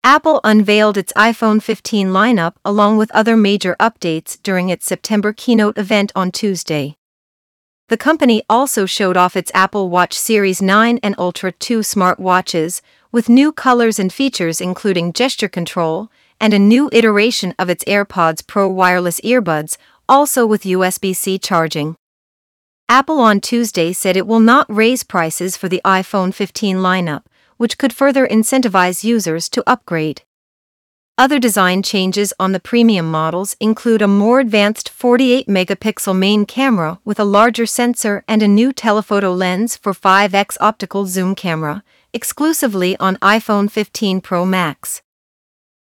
Apple unveiled its iPhone 15 lineup along with other major updates during its September keynote event on Tuesday. The company also showed off its Apple Watch Series 9 and Ultra 2 smartwatches, with new colors and features including gesture control, and a new iteration of its AirPods Pro wireless earbuds, also with USB-C charging. Apple on Tuesday said it will not raise prices for the iPhone 15 lineup, which could further incentivize users to upgrade. Other design changes on the premium models include a more advanced 48-megapixel main camera with a larger sensor and a new telephoto lens for 5x optical zoom camera, exclusively on iPhone 15 Pro Max.